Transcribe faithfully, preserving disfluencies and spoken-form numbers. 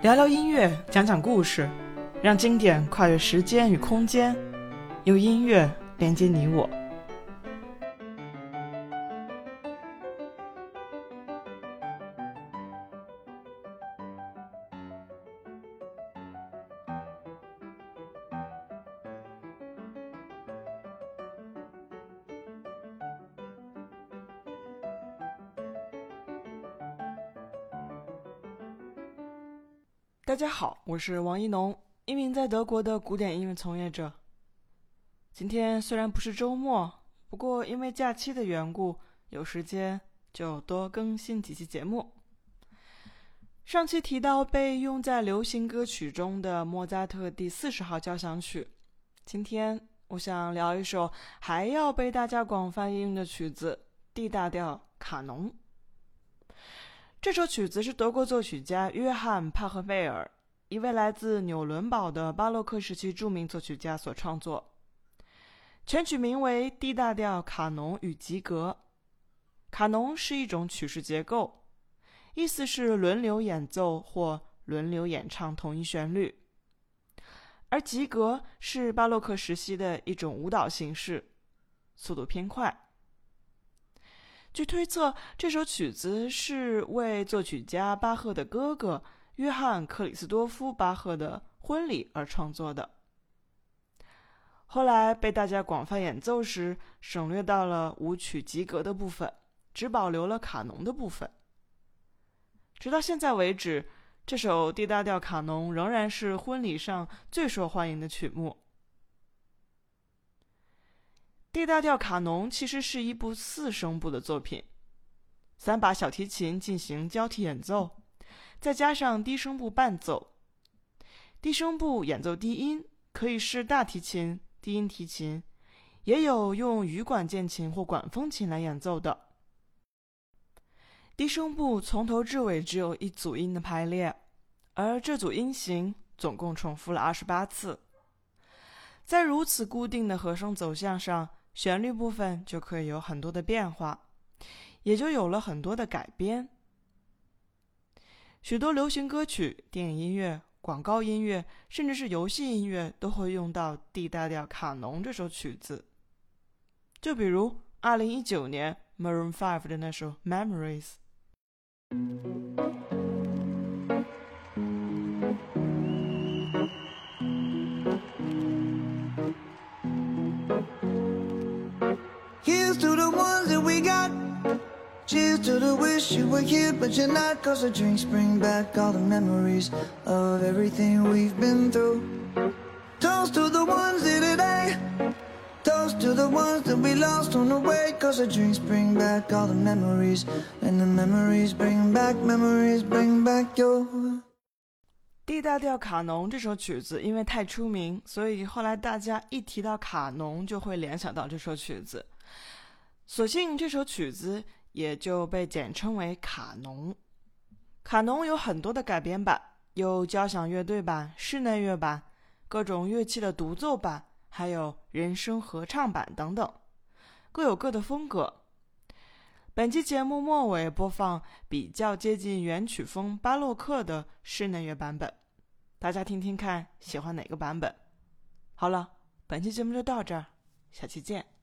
聊聊音乐，讲讲故事，让经典跨越时间与空间，用音乐连接你我。大家好，我是王一农，一名在德国的古典音乐从业者。今天虽然不是周末，不过因为假期的缘故，有时间就多更新几期节目。上期提到被用在流行歌曲中的莫扎特第四十号交响曲，今天我想聊一首还要被大家广泛应用的曲子 D 大调卡农。这首曲子是德国作曲家约翰·帕赫贝尔，一位来自纽伦堡的巴洛克时期著名作曲家所创作。全曲名为 D 大调卡农与吉格。卡农是一种曲式结构，意思是轮流演奏或轮流演唱同一旋律。而吉格是巴洛克时期的一种舞蹈形式，速度偏快。据推测，这首曲子是为作曲家巴赫的哥哥约翰·克里斯多夫·巴赫的婚礼而创作的。后来被大家广泛演奏时，省略到了舞曲吉格的部分，只保留了卡农的部分。直到现在为止，这首 D 大调卡农仍然是婚礼上最受欢迎的曲目。D 大调卡农其实是一部四声部的作品，三把小提琴进行交替演奏，再加上低声部伴奏。低声部演奏低音，可以是大提琴、低音提琴，也有用羽管键琴或管风琴来演奏的。低声部从头至尾只有一组音的排列，而这组音型总共重复了二十八次。在如此固定的和声走向上，旋律部分就可以有很多的变化，也就有了很多的改编。许多流行歌曲、电影音乐、广告音乐，甚至是游戏音乐都会用到 D 大调卡农这首曲子。就比如二零一九年 Maroon 五的那首 Memories。Here's to the ones that we got. Cheers to the wish you were here but you're not, 'cause the drinks bring back all the memories of everything we've been through. Toast to the ones here today. Toast to the ones that we lost on the way, 'cause the drinks bring back all the memories, and the memories bring back, memories bring back your D 大调卡农这首曲子因为太出名，所以后来大家一提到卡农就会联想到这首曲子，所幸这首曲子也就被简称为卡农。卡农有很多的改编版，有交响乐队版、室内乐版、各种乐器的独奏版，还有人声合唱版等等，各有各的风格。本期节目末尾播放比较接近原曲风巴洛克的室内乐版本，大家听听看喜欢哪个版本。好了，本期节目就到这儿，下期见。